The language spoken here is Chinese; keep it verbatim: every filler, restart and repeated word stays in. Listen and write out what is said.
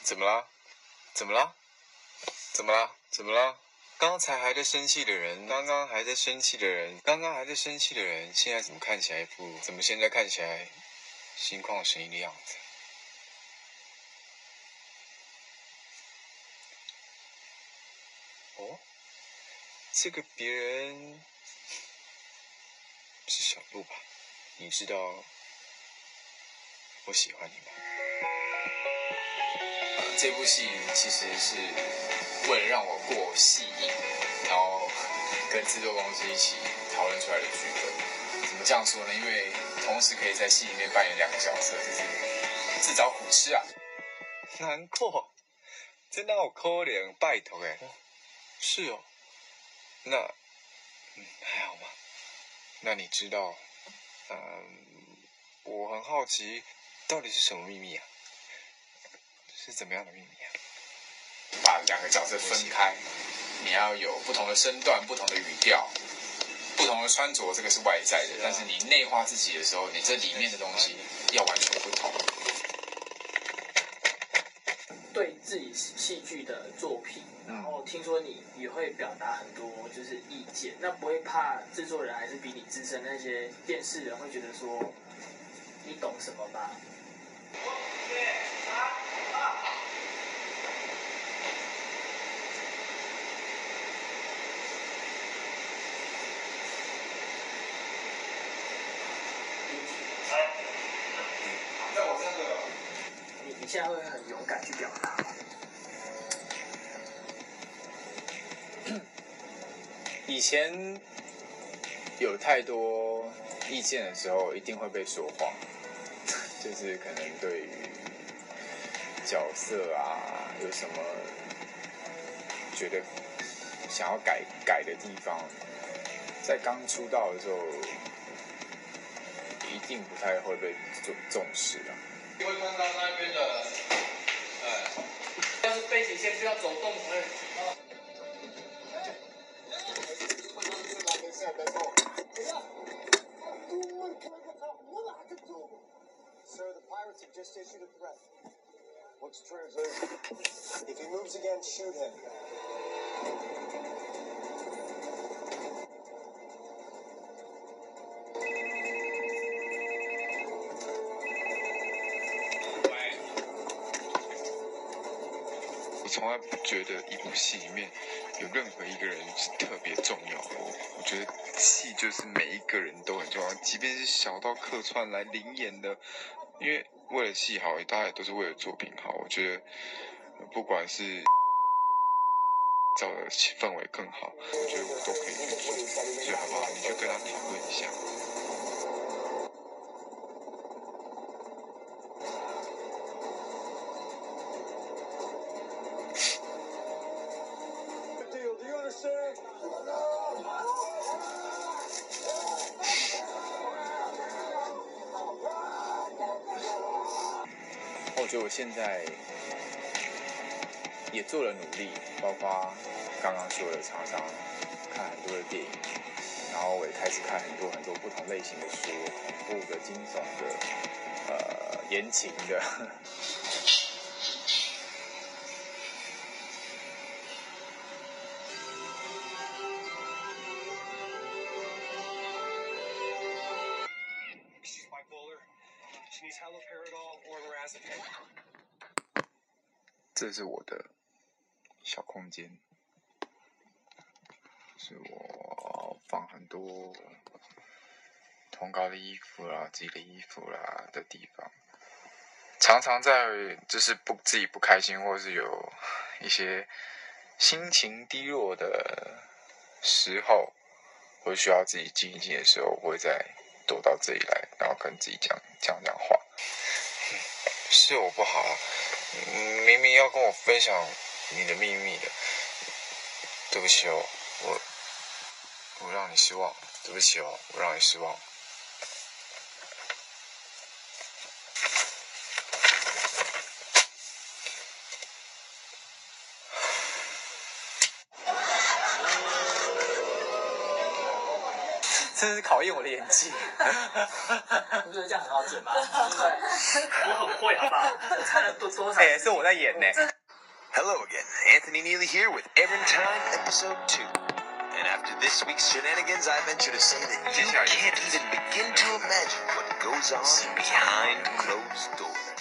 怎么啦？怎么啦？怎么啦？怎么啦？刚才还在生气的人，刚刚还在生气的人，刚刚还在生气的人，现在怎么看起来不？怎么现在看起来心旷神怡的样子？哦，这个别人是小鹿吧？你知道我喜欢你吗？呃，这部戏其实是为了让我过戏瘾，然后跟制作公司一起讨论出来的剧本。怎么这样说呢？因为同时可以在戏里面扮演两个角色，就是自找苦吃啊。难过，真的好可怜，拜托哎。是哦，那嗯还好吗？那你知道，嗯，我很好奇，到底是什么秘密啊？是怎么样的秘密啊？把两个角色分开，你要有不同的身段、不同的语调、不同的穿着，这个是外在的。但是你内化自己的时候，你这里面的东西要完全不同。 对自己戏剧的作品，然后听说你也会表达很多就是意见，那不会怕制作人还是比你资深那些电视人会觉得说你懂什么吗？你你现在会很勇敢去表达吗？ 以前有太多意见的时候，一定会被说谎，就是可能对于角色啊有什么觉得想要改改的地方，在刚出道的时候，一定不太会被重重视啊。 你会看到那边的，呃， 但是背景先不要走动，哎。 Sir, the pirates have just issued a threat. What's translation? If he moves again, shoot him. 我从来不觉得一部戏里面有任何一个人是特别重要的。我觉得戏就是每一个人都很重要，即便是小到客串来临演的，因为为了戏好，大家也都是为了作品好。我觉得不管是造的氛围更好，我觉得我都可以去做，所以好不好？你去跟他讨论一下。我觉得我现在也做了努力，包括刚刚说的，常常看很多的电影，然后我也开始看很多很多不同类型的书，恐怖的、惊悚的、呃言情的。这是我的小空间，是我放很多通告的衣服啦、自己的衣服啦的地方。常常在就是不自己不开心，或是有一些心情低落的时候，或需要自己静一静的时候，我会再躲到这里来，然后跟自己讲讲讲话。是我不好啊，明明要跟我分享你的秘密的，对不起哦，我我让你失望，对不起哦，我让你失望。 真是考验我的演技。 你觉得这样很好剪吗？对不对？我很会，好不好？猜了多多少？ 哎，是我在演呢。 Hello again, Anthony Neely here with Everin Time Episode two. And after this week's shenanigans, I venture to say that you can't even begin to imagine what goes on behind closed doors.